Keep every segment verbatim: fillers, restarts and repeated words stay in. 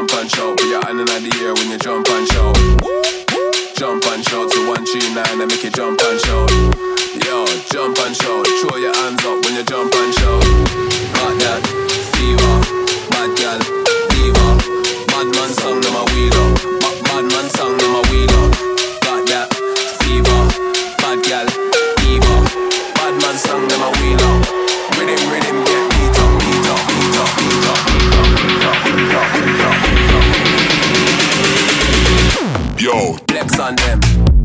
jump and shout. Put your hand in the air when you jump and shout. Jump and shout to one three nine and make you jump and shout. Yo, jump and shout. Throw your hands up when you jump and shout. Got that fever, bad gal, diva. Bad man song them a wheel up. Bad man song them a wheel up. Got that fever, bad gal, diva. Bad man song them a wheel up. Rhythm, rhythm, get beat up, beat up, beat up, beat up, beat up, beat up, beat up, beat up. Yo, flex on them.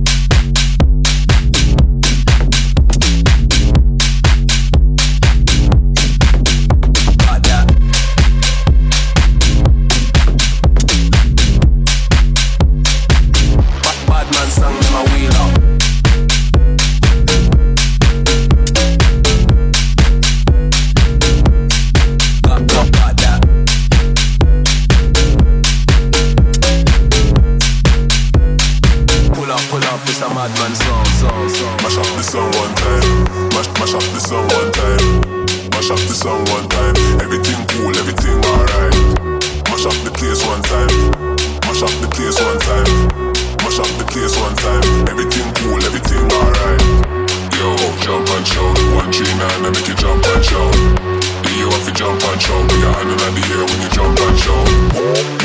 Madman song, song, song. Mash up the song one time. Mash, mash up the song one time. Mash up the song one time. Everything cool, everything alright. Mash up the place one time. Mash up the place one time. Mash up the place one time. Everything cool, everything alright. Yo, jump and shout. One three nine and make you jump and shout. Do you have to jump and shout? Put your hand in the air when you jump and shout.